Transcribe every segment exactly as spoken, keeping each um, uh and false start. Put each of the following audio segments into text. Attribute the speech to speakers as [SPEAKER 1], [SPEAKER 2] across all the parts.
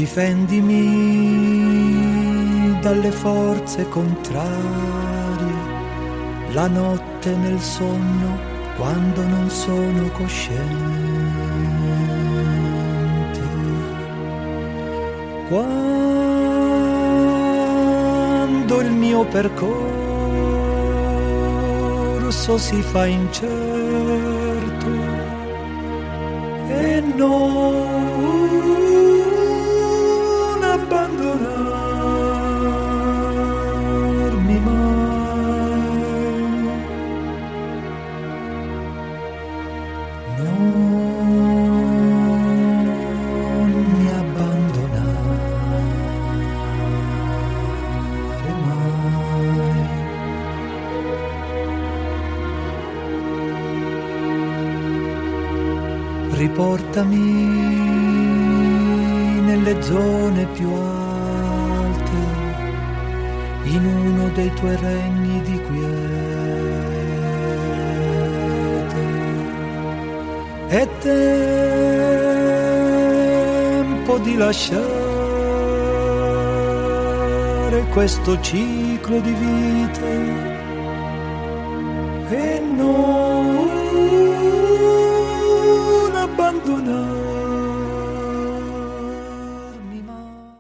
[SPEAKER 1] Difendimi dalle forze contrarie, la notte nel sonno quando non sono cosciente, quando il mio percorso si fa incerto e non abbandonarmi mai, non mi abbandonare mai. Riportami nelle zone più alte, in uno dei tuoi regni di quiete. È tempo di lasciare questo ciclo di vite e non abbandonarmi mai.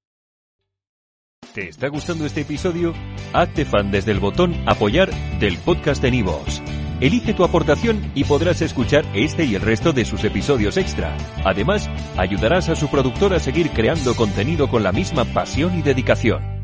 [SPEAKER 2] ¿Te está gustando este episodio? Hazte fan desde el botón Apoyar del podcast de Nivos. Elige tu aportación y podrás escuchar este y el resto de sus episodios extra. Además, ayudarás a su productor a seguir creando contenido con la misma pasión y dedicación.